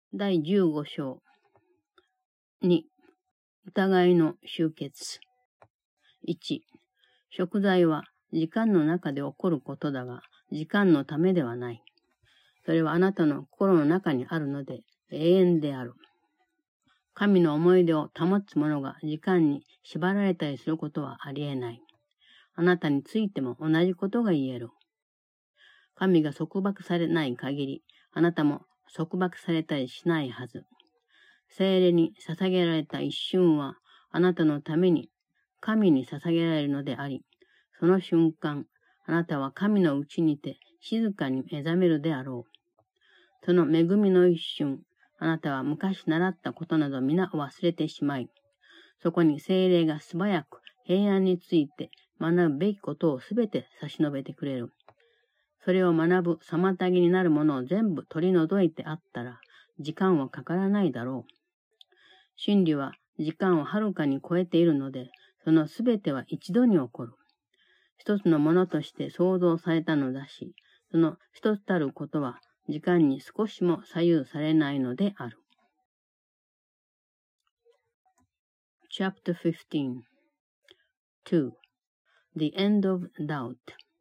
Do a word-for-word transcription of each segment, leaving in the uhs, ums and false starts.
だいじゅうご章。に、疑いの終結。いち、贖罪は時間の中で起こることだが、時間のためではない。それはあなたの心の中にあるので永遠である。神の思い出を保つ者が時間に縛られたりすることはありえない。あなたについても同じことが言える。神が束縛されない限り、あなたも束縛されたりしないはず。聖霊に捧げられた一瞬は、あなたのために神に捧げられるのであり、その瞬間、あなたは神のうちにて静かに目覚めるであろう。その恵みの一瞬、あなたは昔習ったことなど皆忘れてしまい、そこに聖霊が素早く平安について学ぶべきことをすべて差し伸べてくれる。それを学ぶ妨げになるものを全部取り除いてあったら、時間はかからないだろう。真理は時間をはるかに超えているので、そのすべては一度に起こる。一つのものとして創造されたのだし、その一つたることは時間に少しも左右されないのである。Chapter fifteen. two. The End of Doubt.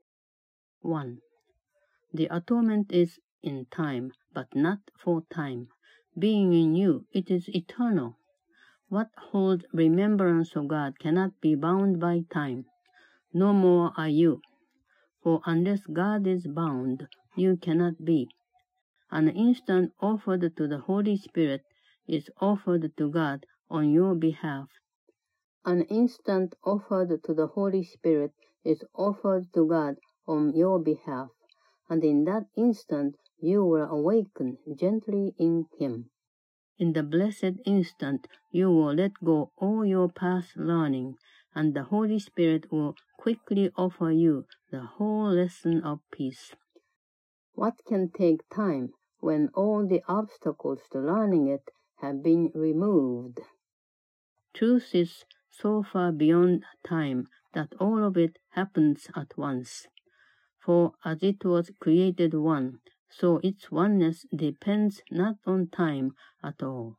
one. The atonement is in time, but not for time. Being in you, it is eternal. What holds remembrance of God cannot be bound by time. No more are you. For unless God is bound, you cannot be. An instant offered to the Holy Spirit is offered to God on your behalf. An instant offered to the Holy Spirit is offered to God on your behalf, and in that instant you will awaken gently in Him. In the blessed instant you will let go all your past learning, and the Holy Spirit will quickly offer you the whole lesson of peace. What can take time when all the obstacles to learning it have been removed? Truth is so far beyond time that all of it happens at once. For as it was created one, so its oneness depends not on time at all.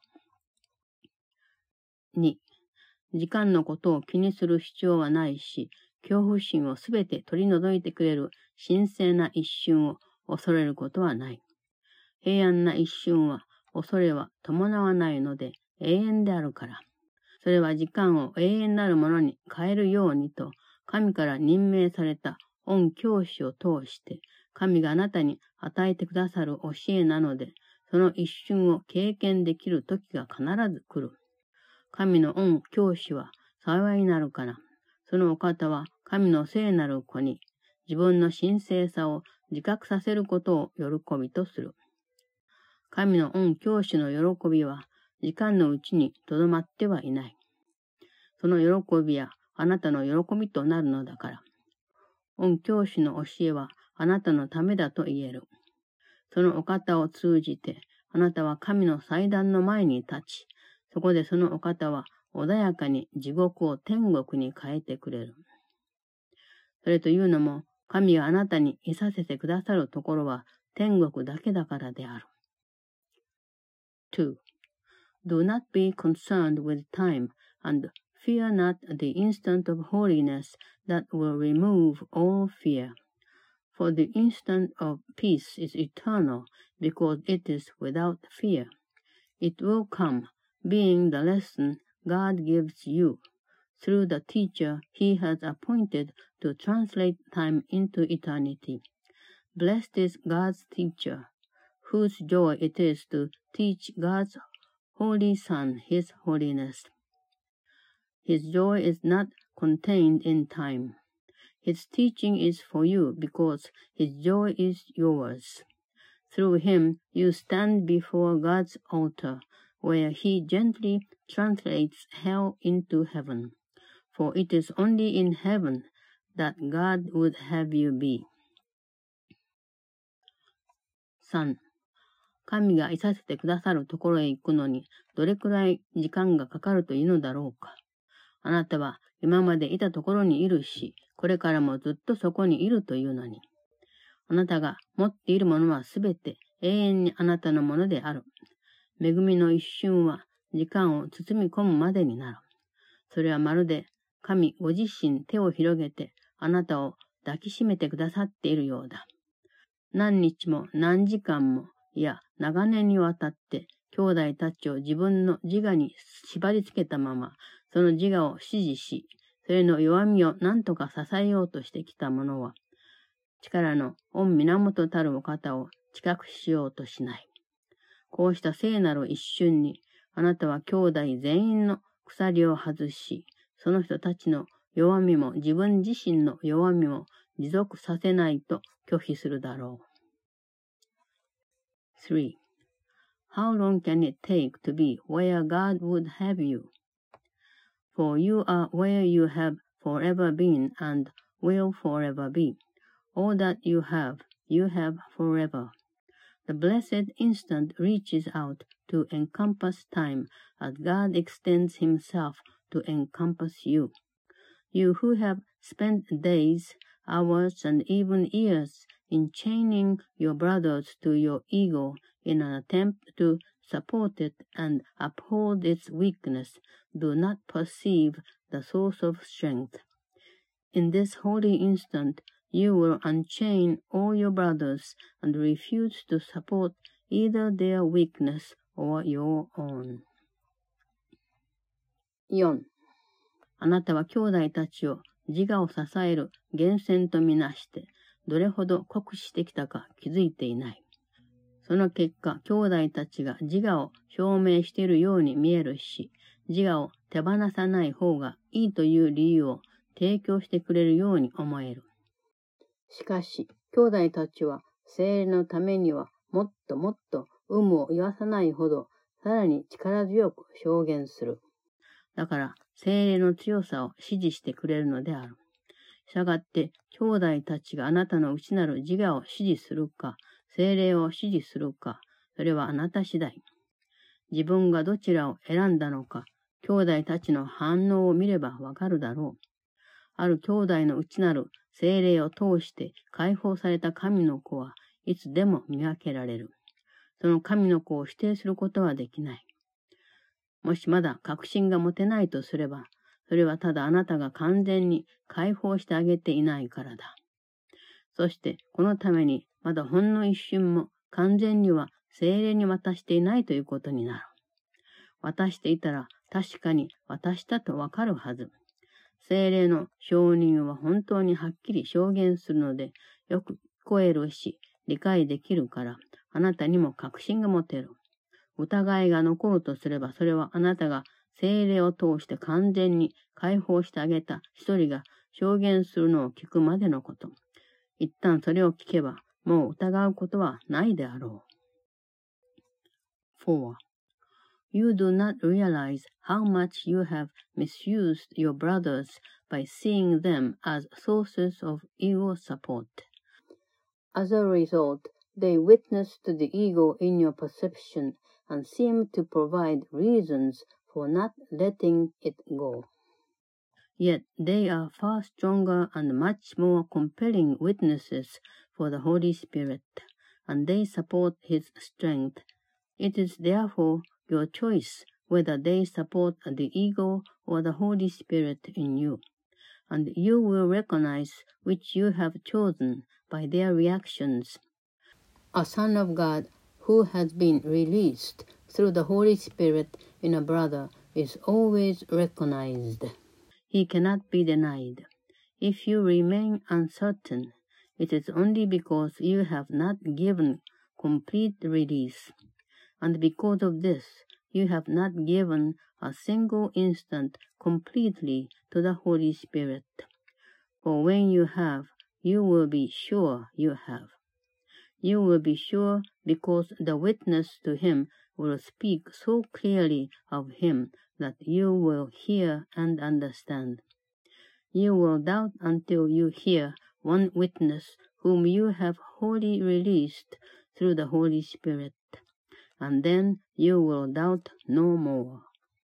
に、時間のことを気にする必要はないし、恐怖心をすべて取り除いてくれる神聖な一瞬を恐れることはない。平安な一瞬は恐れは伴わないので永遠であるから。それは時間を永遠なるものに変えるようにと、神から任命された御教師を通して、神があなたに与えてくださる教えなので、その一瞬を経験できる時が必ず来る。神の御教師は幸いになるから、そのお方は神の聖なる子に自分の神聖さを自覚させることを喜びとする。神の御教師の喜びは時間のうちにとどまってはいない。その喜びはあなたの喜びとなるのだから。御教師の教えはあなたのためだと言える。そのお方を通じて、あなたは神の祭壇の前に立ち、そこでそのお方は穏やかに地獄を天国に変えてくれる。それというのも、神があなたにいさせてくださるところは天国だけだからである。two. Do not be concerned with time, and fear not the instant of holiness that will remove all fear. For the instant of peace is eternal, because it is without fear. It will come, being the lesson God gives you, through the teacher He has appointed to translate time into eternity. Blessed is God's teacher, whose joy it is to teach God's Holy Son His holiness. His joy is not contained in time. His teaching is for you because His joy is yours. Through Him you stand before God's altar, where He gently translates hell into heaven. For it is only in heaven that God would have you be. さん. 神がいさせてくださるところへ行くのにどれくらい時間がかかるというのだろうか。あなたは今までいたところにいるし、これからもずっとそこにいるというのに。あなたが持っているものはすべて永遠にあなたのものである。 恵みの一瞬は時間を包み込むまでになる。それはまるで神ご自身手を広げてあなたを抱きしめてくださっているようだ。何日も何時間も、いや長年にわたって兄弟たちを自分の自我に縛り付けたまま、その自我を支持し、それの弱みを何とか支えようとしてきた者は、力の御源たるお方を知覚しようとしない。こうした聖なる一瞬に、あなたは兄弟全員の鎖を外し、その人たちの弱みも自分自身の弱みも持続させないと拒否するだろう。three. How long can it take to be where God would have you? For you are where you have forever been and will forever be. All that you have, you have forever. The blessed instant reaches out to encompass time as God extends himself to encompass you. You who have spent days, hours, and even years in chaining your brothers to your ego in an attempt to support it and uphold its weakness, do not perceive the source of strength. In this holy instant, you will unchain all your brothers and refuse to support either their weakness or your own. よん. あなたは兄弟たちを自我を支える源泉とみなして、どれほど酷使してきたか気づいていない。その結果、兄弟たちが自我を証明しているように見えるし、自我を手放さない方がいいという理由を提供してくれるように思える。しかし、兄弟たちは聖霊のためにはもっともっと有無を言わさないほど、さらに力強く証言する。だから、聖霊の強さを支持してくれるのである。したがって、兄弟たちがあなたの内なる自我を支持するか、聖霊を支持するか、それはあなた次第。自分がどちらを選んだのか、兄弟たちの反応を見ればわかるだろう。ある兄弟の内なる聖霊を通して解放された神の子はいつでも見分けられる。その神の子を否定することはできない。もしまだ確信が持てないとすれば、それはただあなたが完全に解放してあげていないからだ。そしてこのためにまだほんの一瞬も完全には聖霊に渡していないということになる。渡していたら確かに渡したとわかるはず。聖霊の承認は本当にはっきり証言するので、よく聞こえるし、理解できるから、あなたにも確信が持てる。疑いが残るとすれば、それはあなたが聖霊を通して完全に解放してあげた一人が証言するのを聞くまでのこと。一旦それを聞けば、もう疑うことはないであろう。four. You do not realize how much you have misused your brothers by seeing them as sources of ego support. As a result, they witness to the ego in your perception and seem to provide reasons for not letting it go. Yet they are far stronger and much more compelling witnesses for the Holy Spirit, and they support His strength. It is therefore your choice whether they support the ego or the Holy Spirit in you, and you will recognize which you have chosen by their reactions. A Son of God who has been released through the Holy Spirit in a brother is always recognized. He cannot be denied. If you remain uncertain, it is only because you have not given complete release. And because of this, you have not given a single instant completely to the Holy Spirit. For when you have, you will be sure you have. You will be sure because the witness to Him will speak so clearly of Him that you will hear and understand. You will doubt until you hear one witness whom you have wholly released through the Holy Spirit.And then you will doubt no more.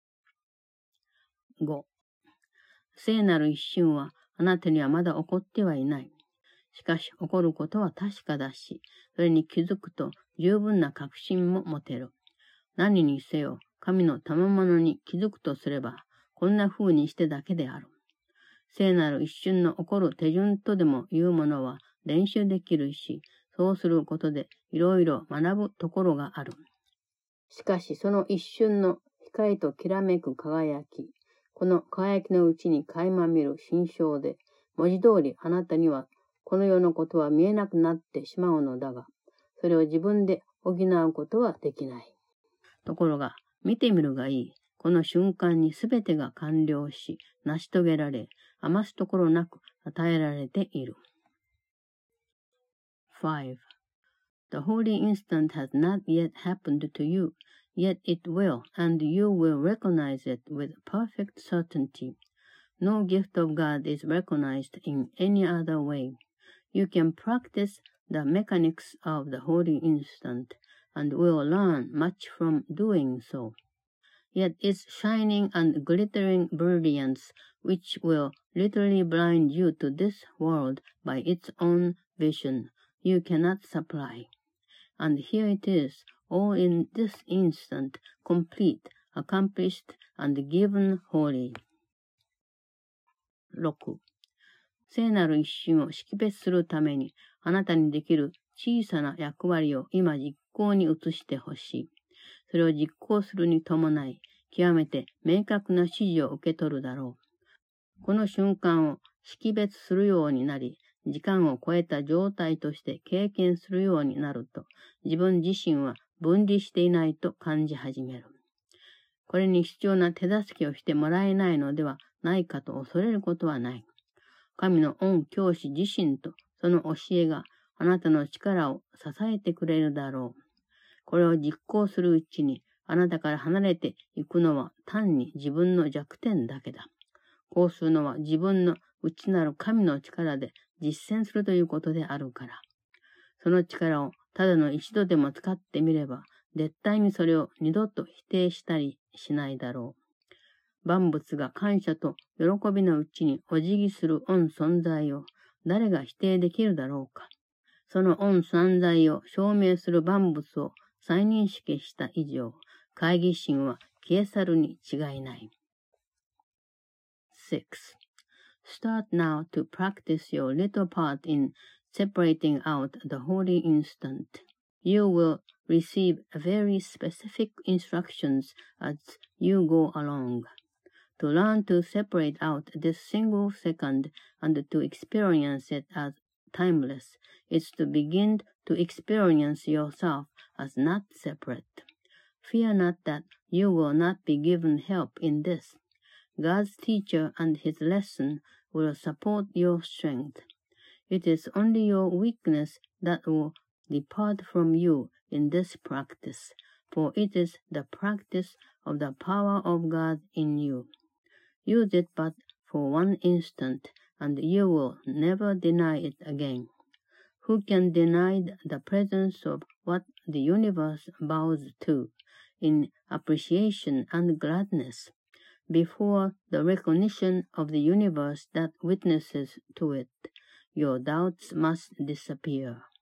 ご. 聖なる一瞬はあなたにはまだ起こってはいない。しかし起こることは確かだし、それに気づくと十分な確信も持てる。 何にせよ、神の賜物に気づくとすれば、こんな風にしてだけである。聖なる一瞬の起こる手順とでもいうものは練習できるし、そうすることでいろいろ学ぶところがある。しかしその一瞬の光ときらめく輝き、この輝きのうちに垣間見る心象で、文字通りあなたにはこの世のことは見えなくなってしまうのだが、それを自分で補うことはできない。ところが、見てみるがいい。この瞬間にすべてが完了し、成し遂げられ、余すところなく与えられている。five. The holy instant has not yet happened to you, yet it will, and you will recognize it with perfect certainty. No gift of God is recognized in any other way. You can practice the mechanics of the holy instant, and will learn much from doing so. Yet its shining and glittering brilliance, which will literally blind you to this world by its own vision, you cannot supply. And here it is, all in this instant, complete, accomplished, and given wholly. ろく. 聖なる一瞬を識別するために、あなたにできる小さな役割を今実行に移してほしい。それを実行するに伴い、極めて明確な指示を受け取るだろう。この瞬間を識別するようになり、時間を超えた状態として経験するようになると、自分自身は分離していないと感じ始める。これに必要な手助けをしてもらえないのではないかと恐れることはない。神の御教師自身とその教えがあなたの力を支えてくれるだろう。これを実行するうちに、あなたから離れていくのは単に自分の弱点だけだ。こうするのは自分の内なる神の力で実践するということであるから。その力をただの一度でも使ってみれば、絶対にそれを二度と否定したりしないだろう。万物が感謝と喜びのうちにお辞儀する御存在を誰が否定できるだろうか。その御存在を証明する万物を再認識した以上、懐疑心は消え去るに違いない。six. Start now to practice your little part in separating out the holy instant. You will receive very specific instructions as you go along. To learn to separate out this single second and to experience it as timeless is to begin to experience yourself as not separate. Fear not that you will not be given help in this. God's teacher and his lesson will support your strength. It is only your weakness that will depart from you in this practice, for it is the practice of the power of God in you. Use it but for one instant, and you will never deny it again. Who can deny the presence of what the universe bows to in appreciation and gladness? Before the recognition of the universe that witnesses to it, your doubts must disappear.